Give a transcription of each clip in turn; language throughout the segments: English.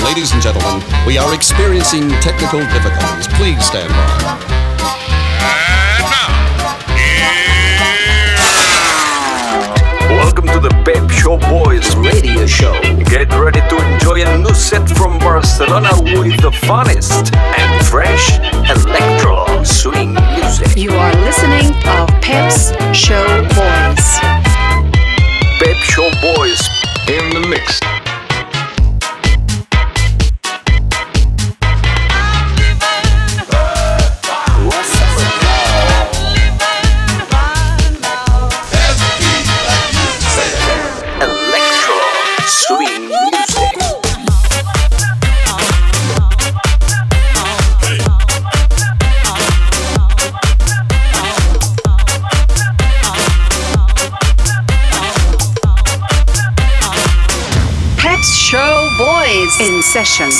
Ladies and gentlemen, we are experiencing technical difficulties. Please stand by. Welcome to the Pep Show Boys radio show. Get ready to enjoy a new set from Barcelona with the funnest and fresh electro swing music. You are listening to Pep's Show Boys. Pep Show Boys in the mix. In session.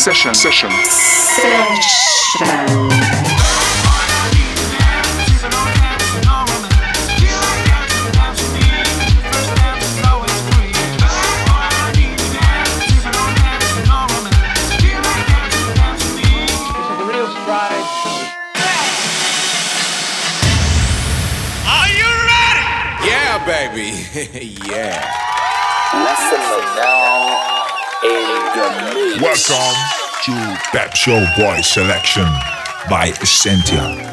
Are you ready? Yeah, baby. Yeah. Listen now. Welcome to Pep Show Boys Selection by Essentia.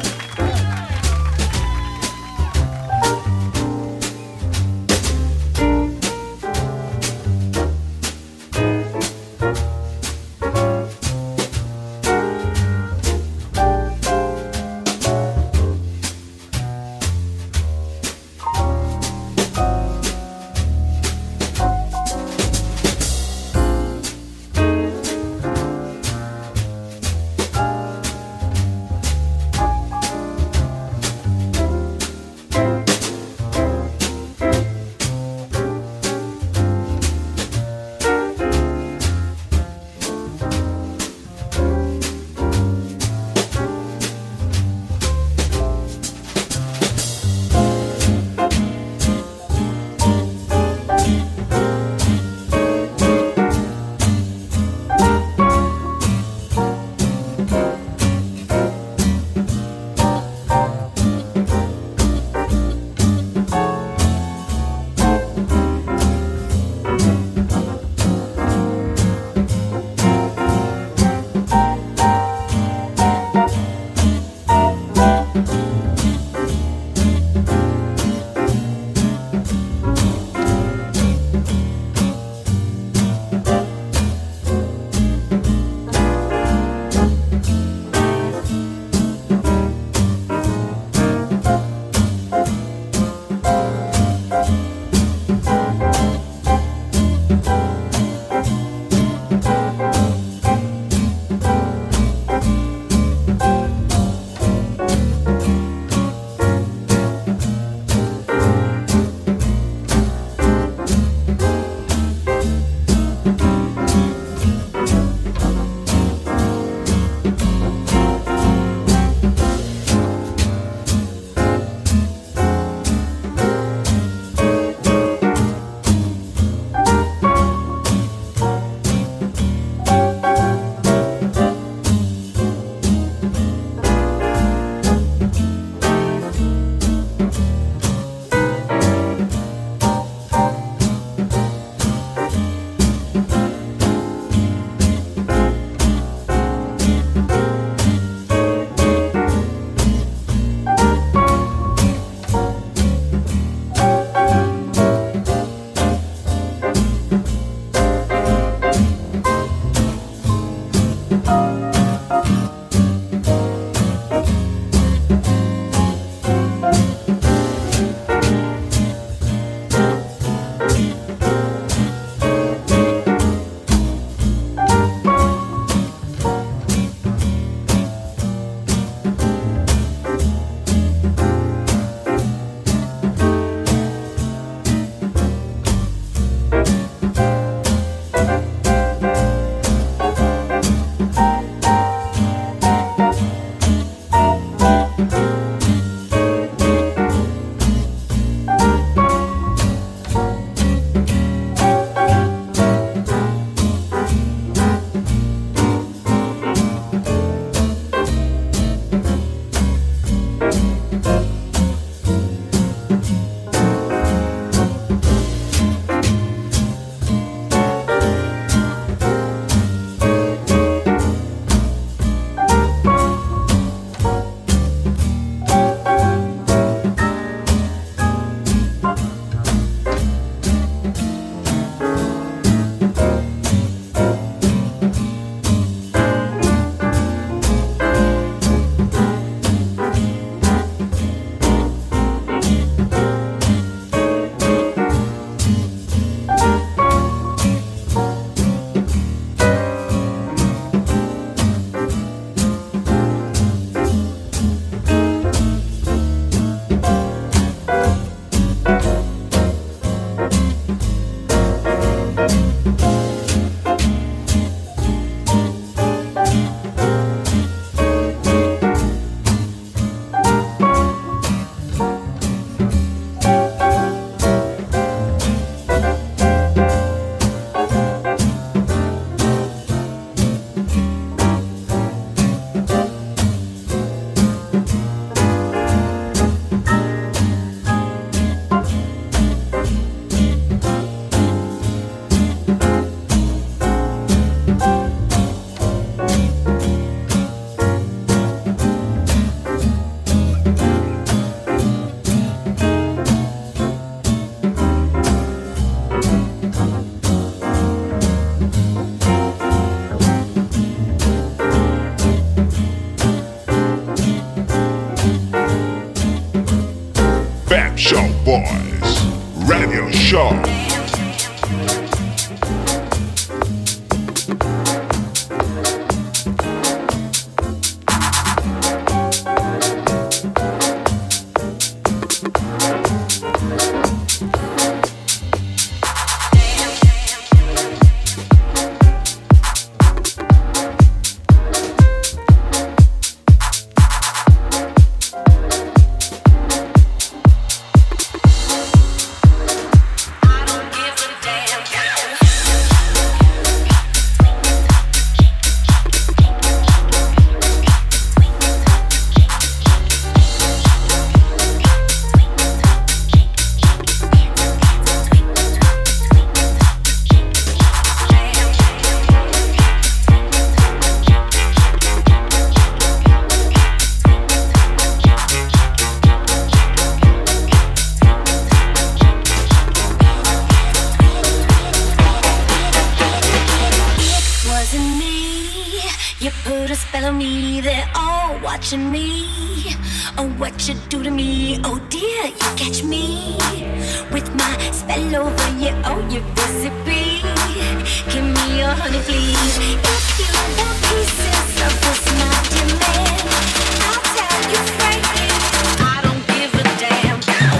You put a spell on me, they're all watching me. Oh, what you do to me, oh dear, you catch me with my spell over you, oh, you recipe. Give me your honey, please. If you want pieces of this, my dear man, I'll tell you frankly, I don't give a damn.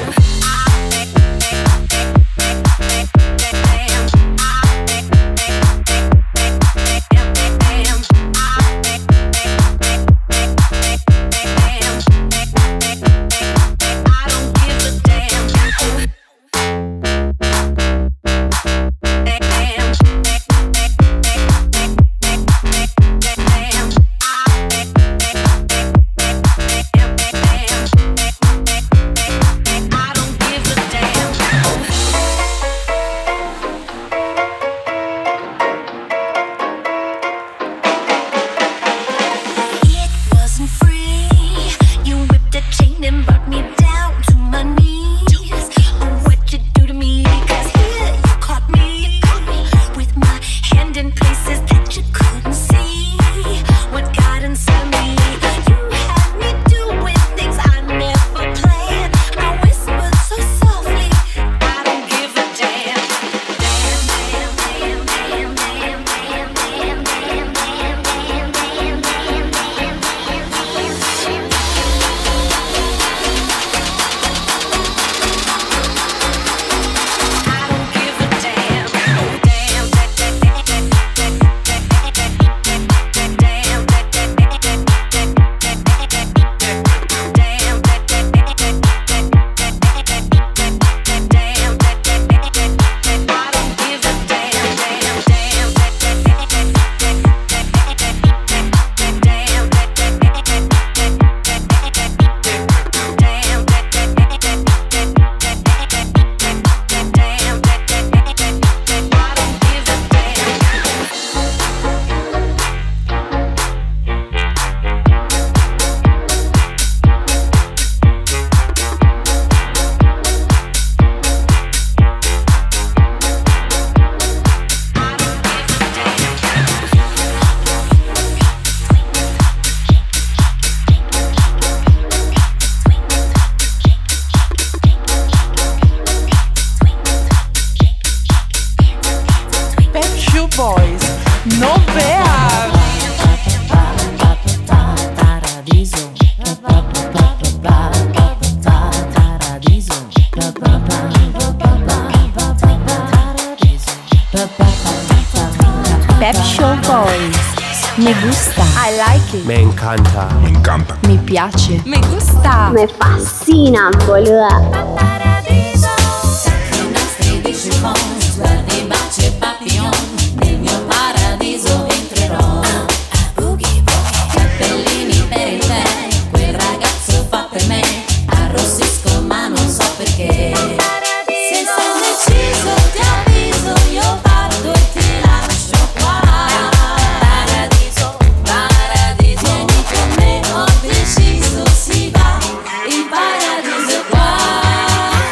Pep Show Boys. Me gusta. I like it. Me encanta. Me encanta. Mi piace. Me gusta. Me fascina, boluda. Nel mio paradiso entrerò. Cappellini per il tè, quel ragazzo fa per me. Arrossisco ma non so perché. Se sono deciso ti avviso, io parto e ti lascio qua. Paradiso, paradiso, vieni con me, ho deciso, si va in paradiso qua.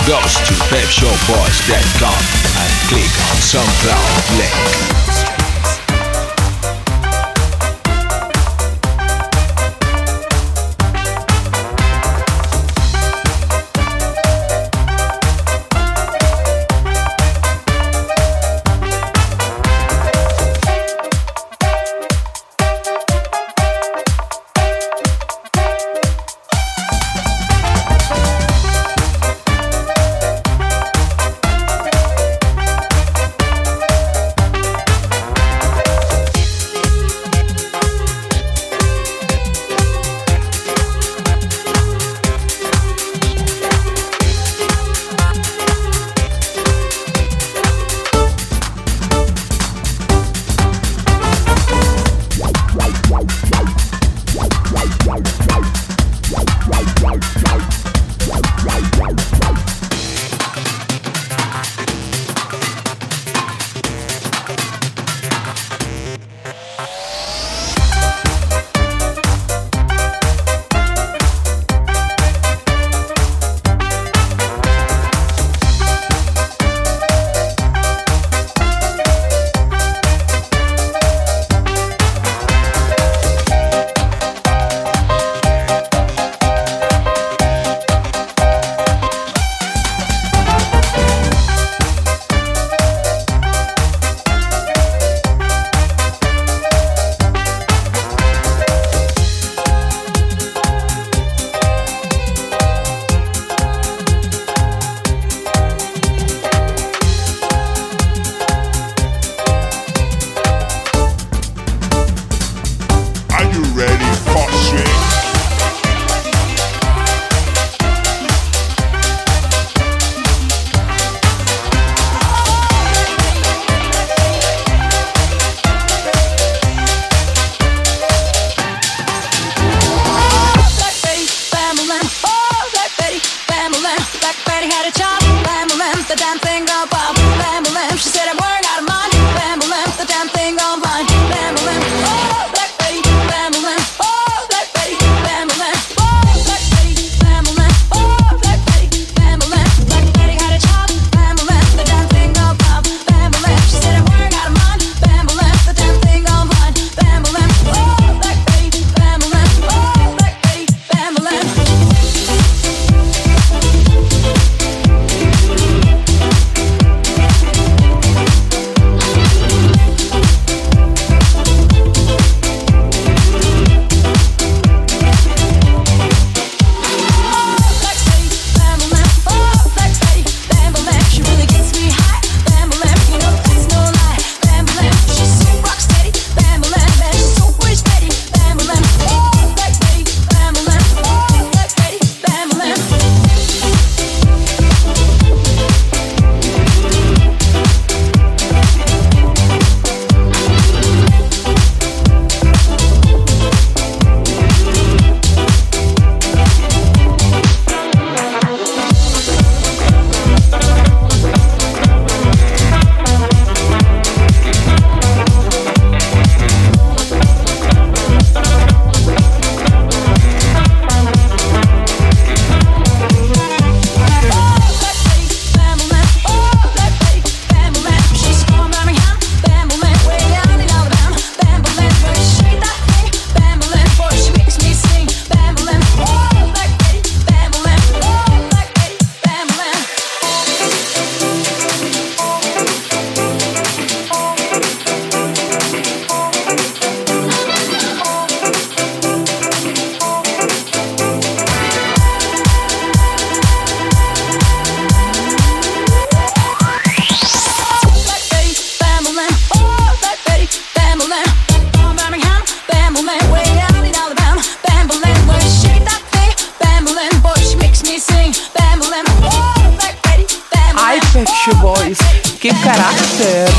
goes to pepshowboys.com and click on SoundCloud link. Que caráter!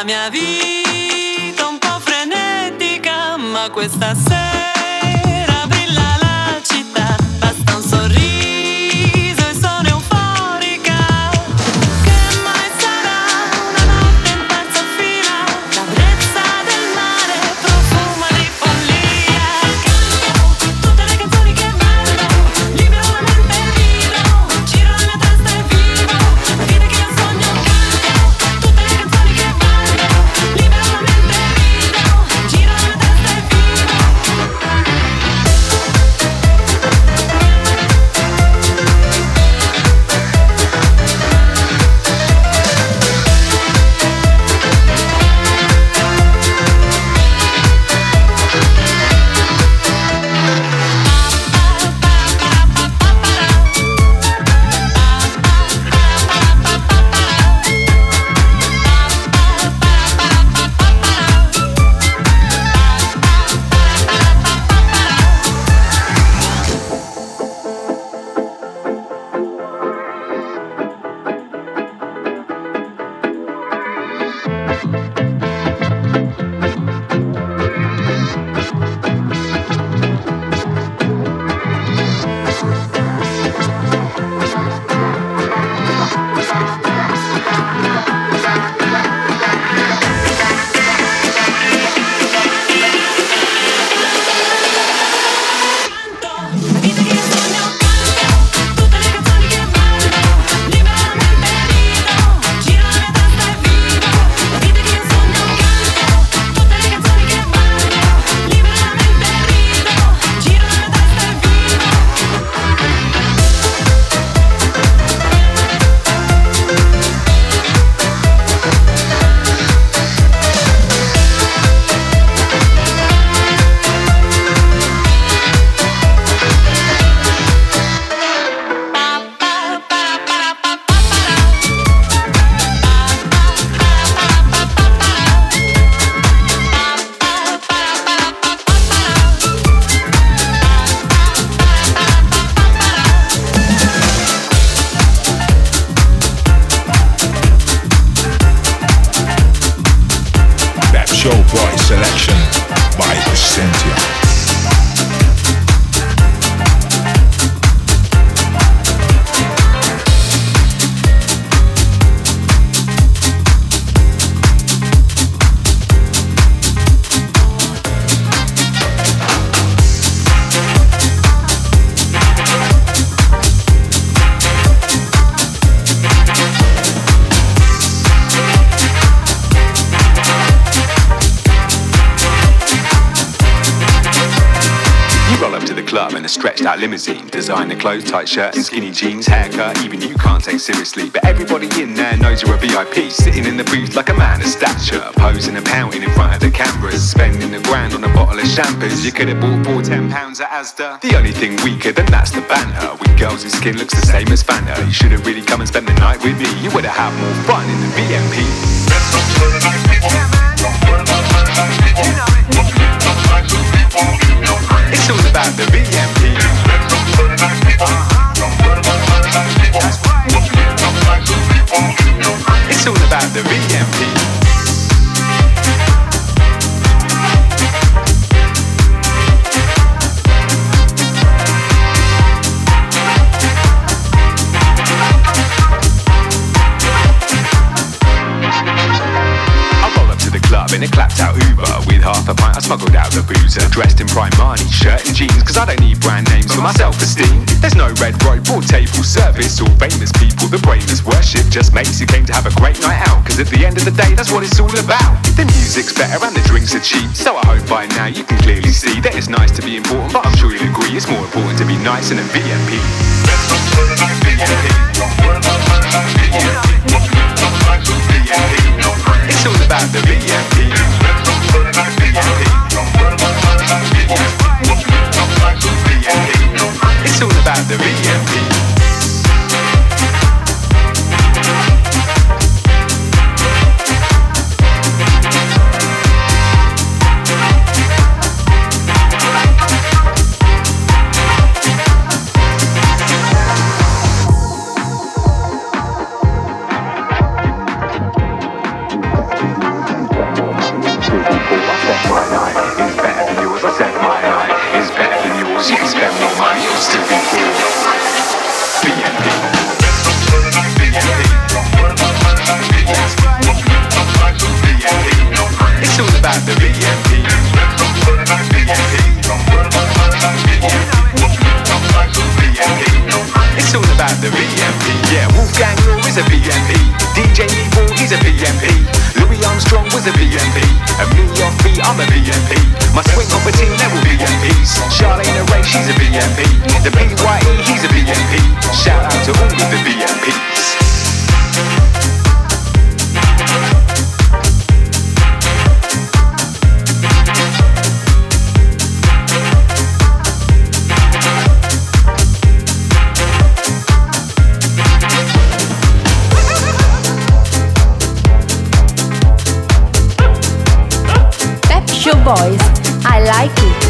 la mia vita un po' frenetica, ma questa sera brilla la città, basta un sorriso e sono euforica. Che mai sarà una notte in terza fila, la brezza del mare profuma di follia. Canto tutte le canzoni che ballo, libero la mente e vivo, giro la mia testa e vivo la vita che io sogno. Canto tutte le canzoni che ballo, libero la mente e vivo, giro la mia testa e vivo. Showboy selection by Essentia. In a stretched out limousine, designer clothes, tight shirt and skinny jeans, haircut even you can't take seriously, but everybody in there knows you're a VIP, sitting in the booth like a man of stature, posing and pouting in front of the cameras, spending $1,000 on a bottle of shampoos you could have bought for £10 at Asda. The only thing weaker than that's the banter, with girls whose skin looks the same as Fanta. You should have really come and spent the night with me, you would have had more fun in the VMP. It's all about the VMP. It's all about the VMP. In a clapped out Uber with half a pint I smuggled out the boozer, dressed in Primani shirt and jeans, cause I don't need brand names for my self-esteem. There's no red rope or table service or famous people the brainless worship, just mates who came to have a great night out, cause at the end of the day that's what it's all about. The music's better and the drinks are cheap, so I hope by now you can clearly see that it's nice to be important, but I'm sure you'll agree it's more important to be nice in a VMP. It's all about the VMP. It's all about the VMP. out the VMP. Yeah, Wolfgang Law is a VMP. DJ Evil, he's a VMP. Louis Armstrong was a VMP. And me on beat, I'm a VMP. My swing on the team, they will VMPs. Charlene and Ray, she's a VMP. The PYE, he's a VMP. Shout out to all of the VMPs. Show Boys, I like it.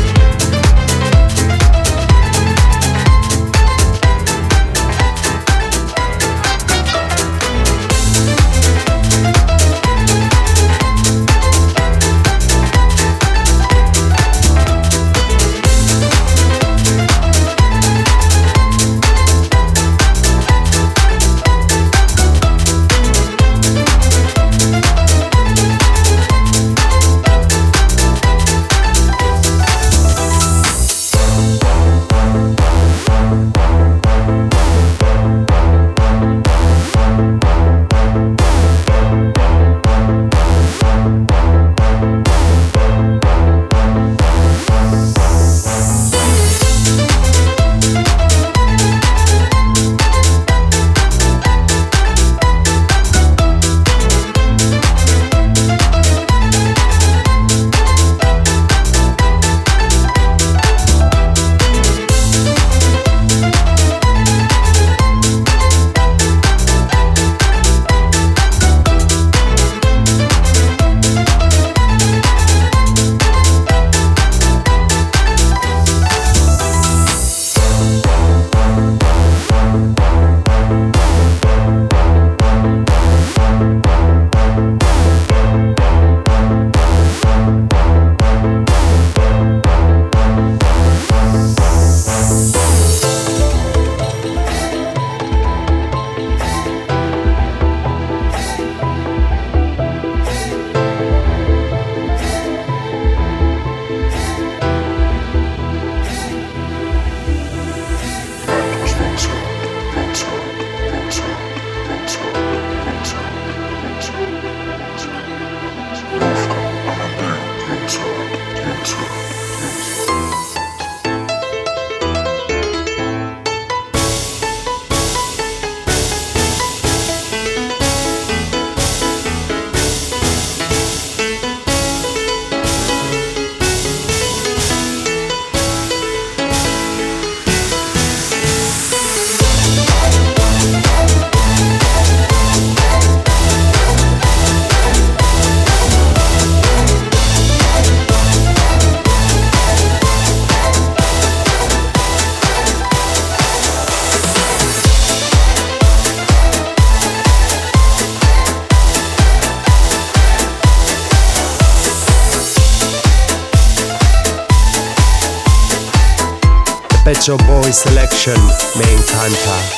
Pet Shop Boys Selection, me encanta.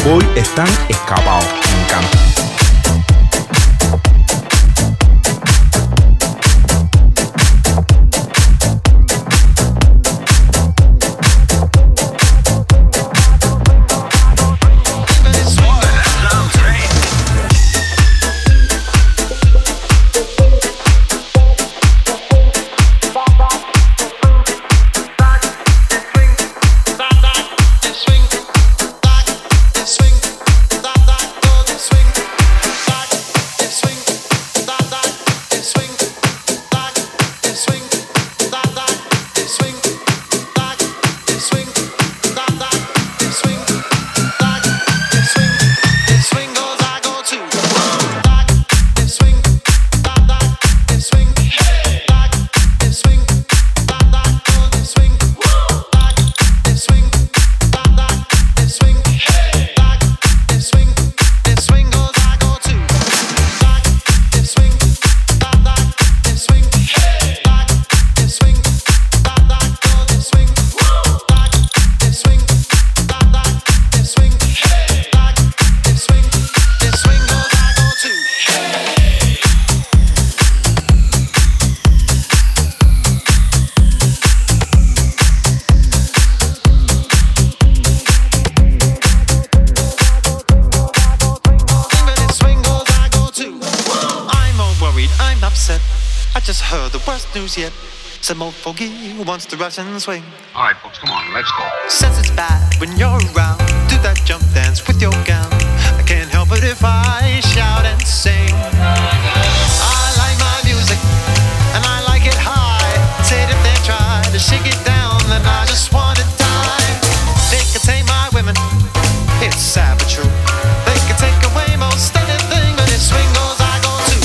Boys están escapados. Me encanta. Yet. Some old fogey who wants the Russian swing. Alright folks, come on, let's go. Says it's bad when you're around. Do that jump dance with your gown. I can't help it if I shout and sing. I like my music and I like it high. Said if they try to shake it down, then I just want to die. They can tame my women, it's sad but true. They can take away most anything, but if swing goes, I go too.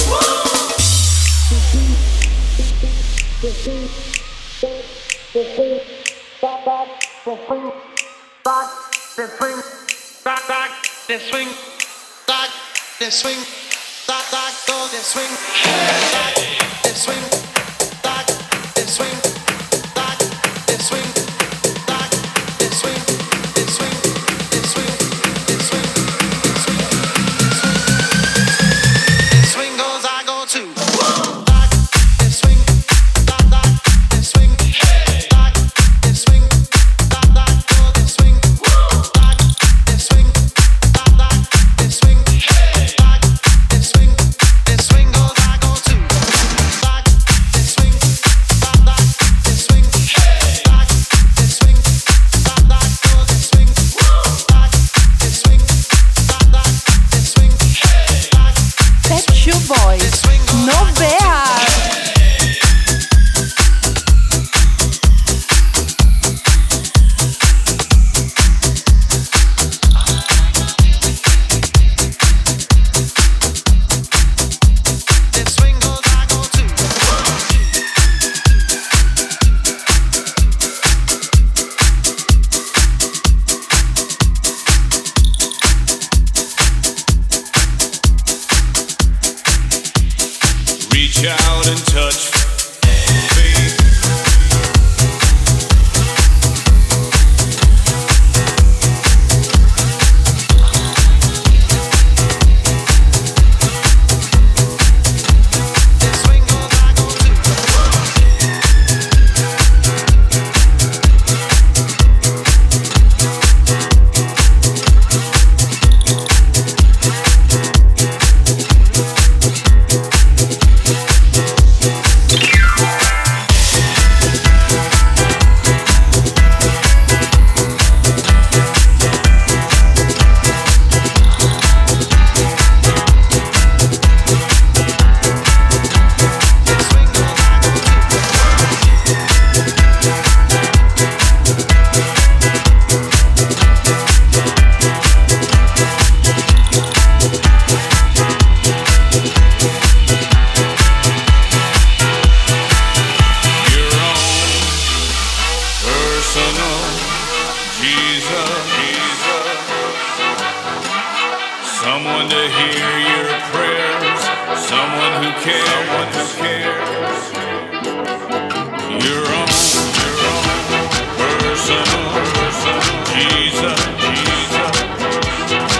Personal, Jesus.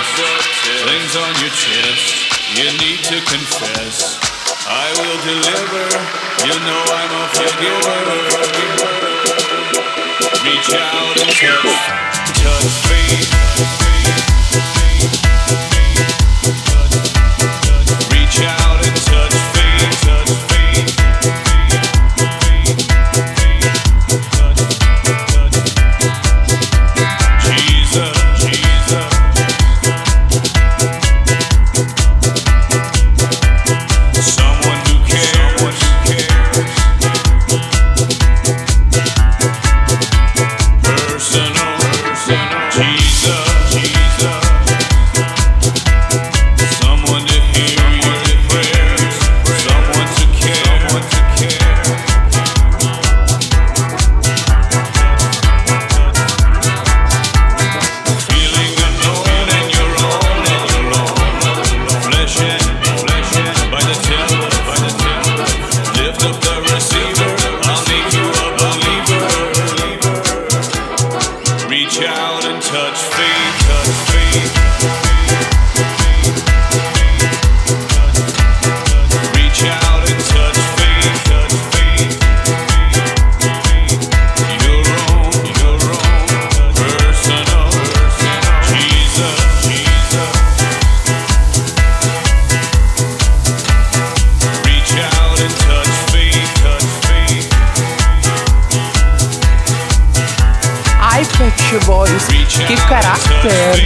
things on your chest, you need to confess. I will deliver, you know I'm a forgiver. Reach out and touch faith. Reach out and touch faith, touch faith. Jesus, Jesus. Someone who cares. Personal, Jesus, Jesus. Someone to hear your prayers. Someone to care. Feeling alone and you're alone. Flesh and by the temple. Lift up the receiver. I'll make you a believer. Reach out and touch faith, touch faith. Reach out and touch faith, touch faith. Your own, personal, Jesus, Jesus. Reach out and touch faith, touch faith. Ai, Pet Shop Boys, que caráter!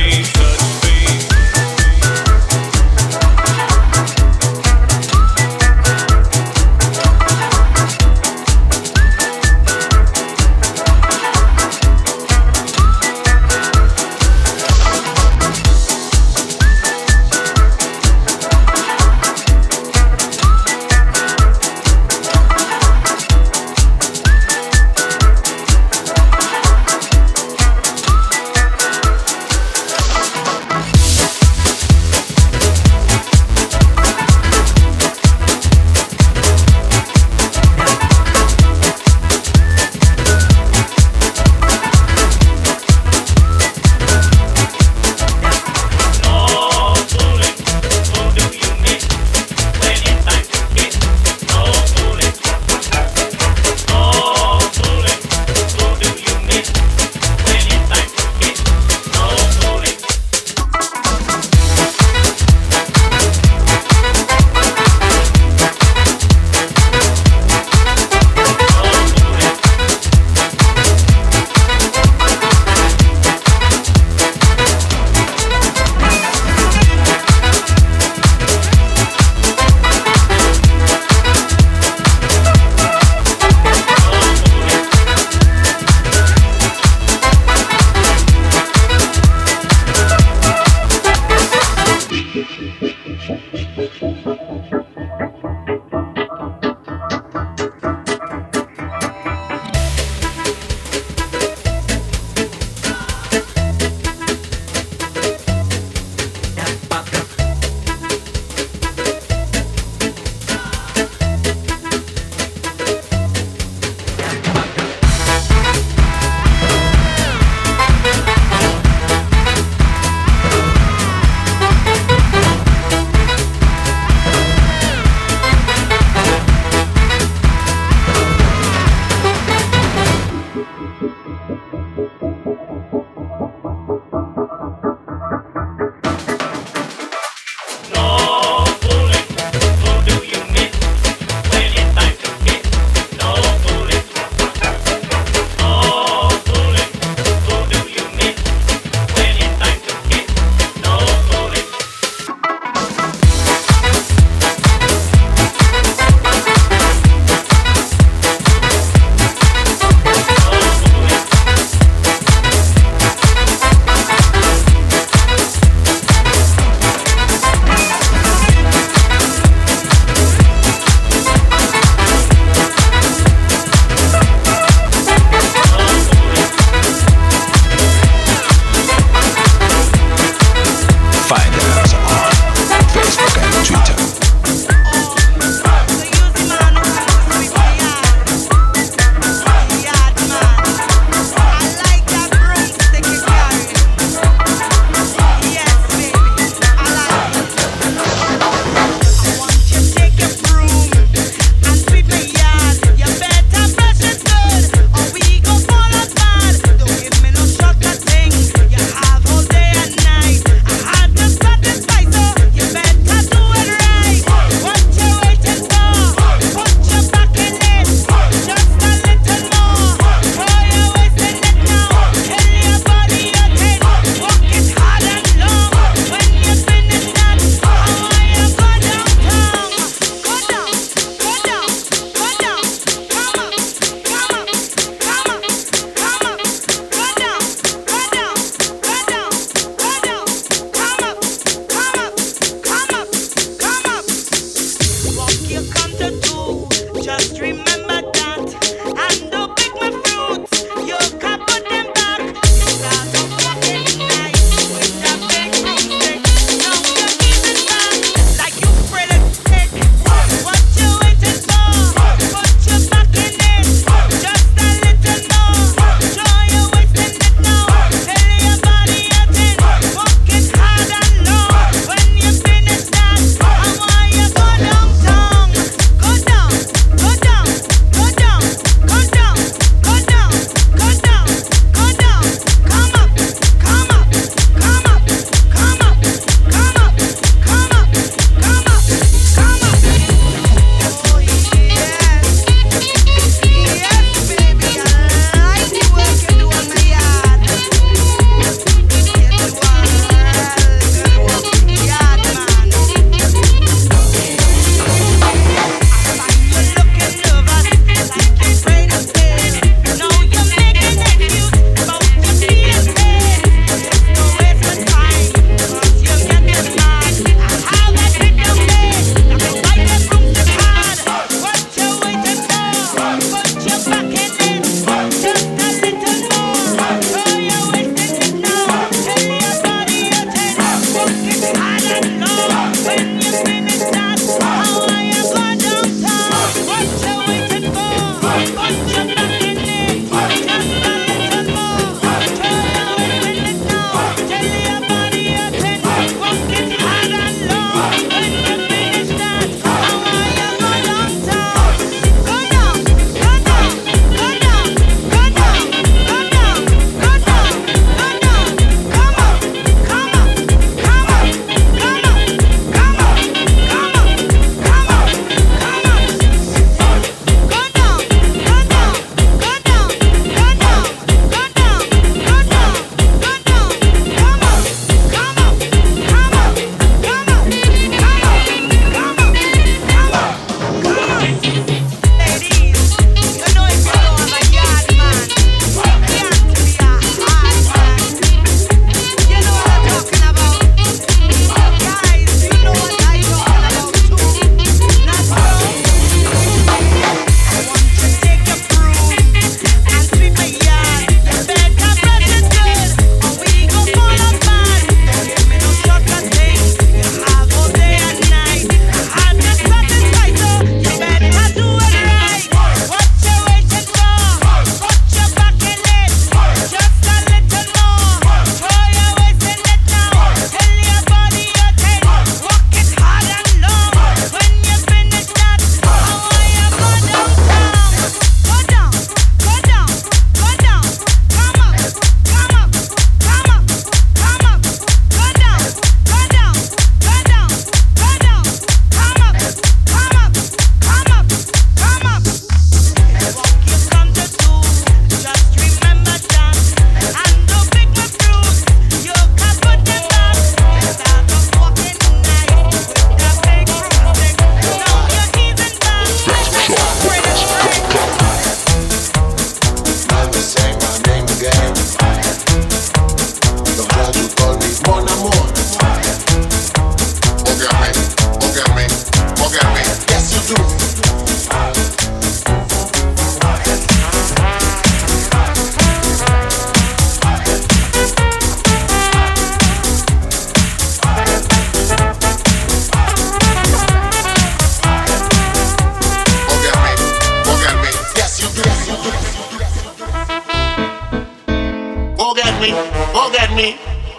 me.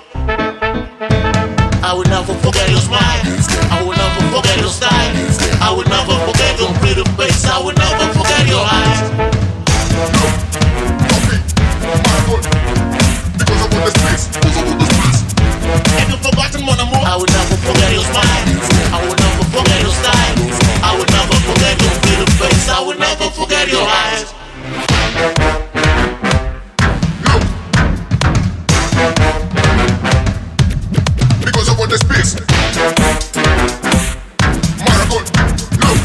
I will never forget your smile. I will never forget your style. I will never forget your pretty face. I will never forget your eyes. Have you forgotten mon amour? I will never forget your smile. I will never forget your style. I will never forget your pretty face. I will never forget your eyes. Because of what they speaks. Marathon, look.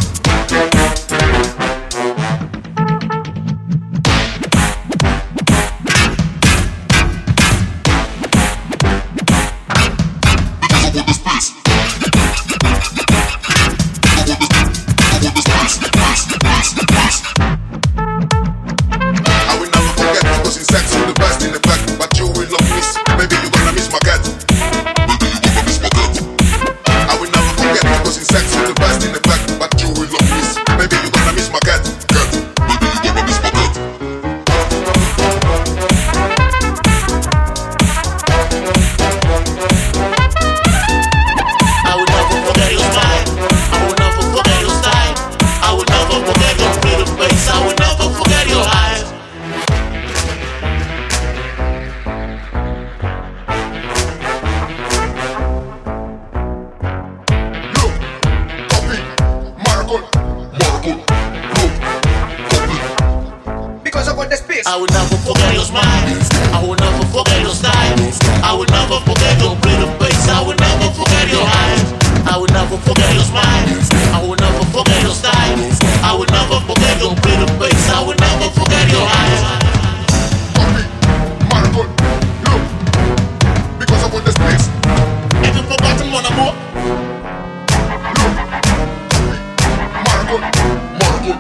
I will never forget your smile. I will never forget your style. I will never forget your pretty face. I will never forget your eyes. I will never forget your smile. I will never forget your style. I will never forget your pretty face. I will never forget your eyes. Marathon, look, because of what this place. Have you forgotten mon amour? Look, Marathon, look,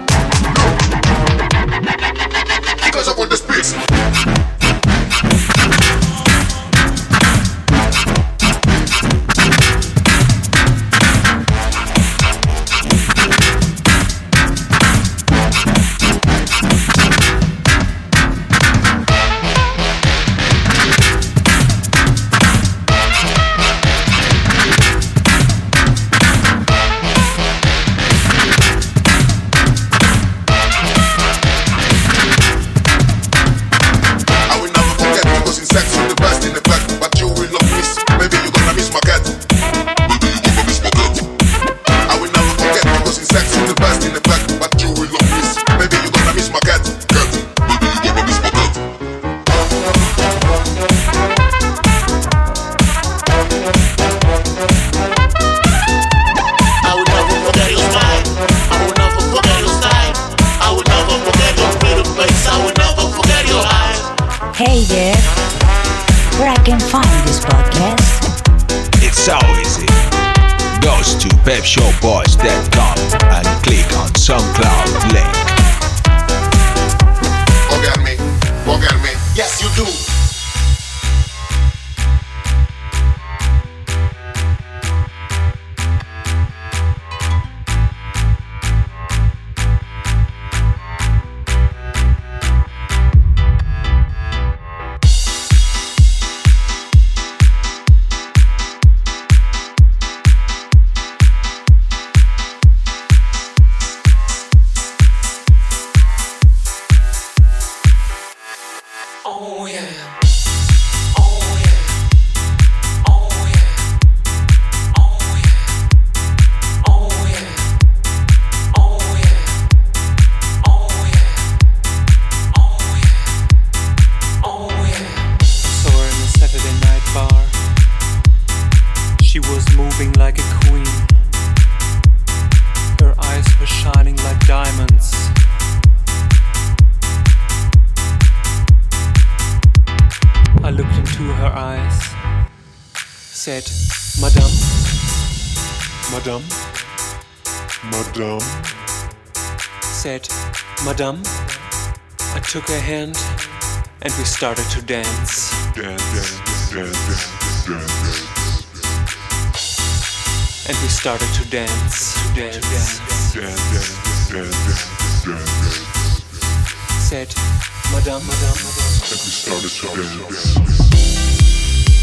because of what this place. Hey there, where I can find this podcast? It's so easy. Goes to pepshowboys.com and click on SoundCloud link. Forget me. Yes, you do. Said, Madame, Madame, Madame. Said, Madame. I took her hand and we started to dance. And we started to dance. Said, Madame, Madame, Madame. And we started to dance.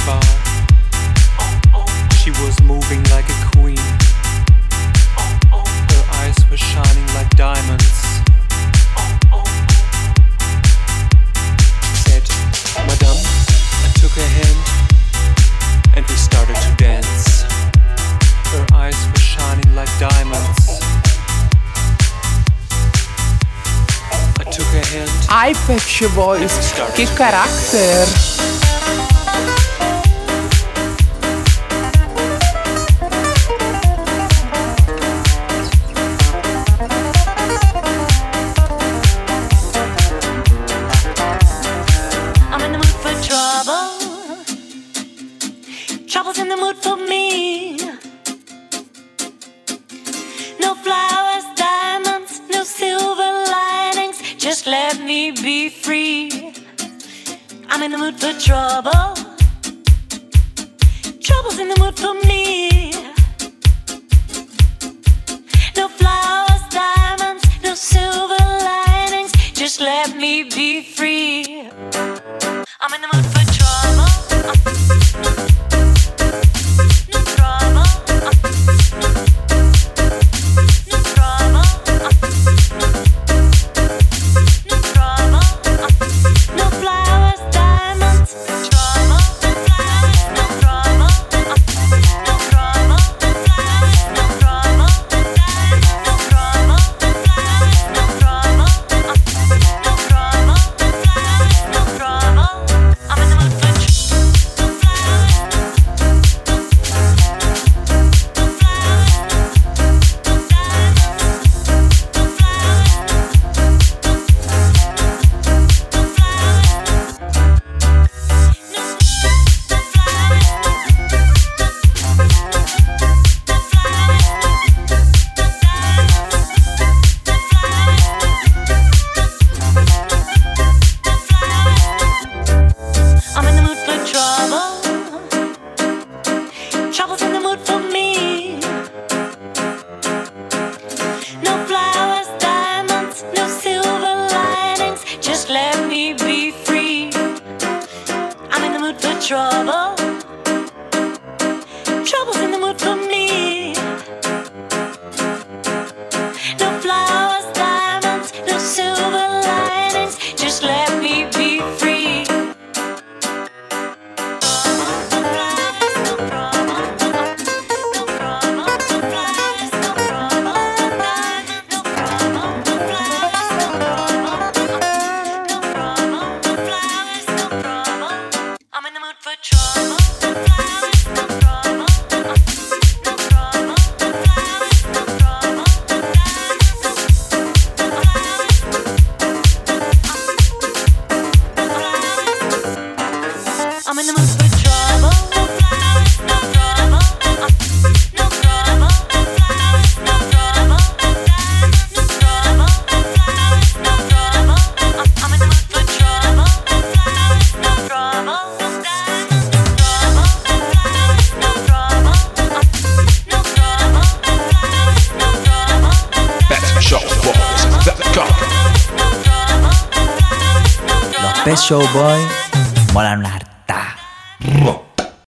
bar. She was moving like a queen. Her eyes were shining like diamonds. Said, Madame, I took her hand and we started to dance. Her eyes were shining like diamonds. I took her hand. Ai, Pet Shop Boys, che carattere! Trouble's in the mood for me. No flowers, diamonds, no silver linings. Just let me be free. I'm in the mood for trouble. Trouble's in the mood for me. No flowers, diamonds, no silver linings. Just let me be free. I'm in the mood for trouble. Pet Shop Boys molan un arte.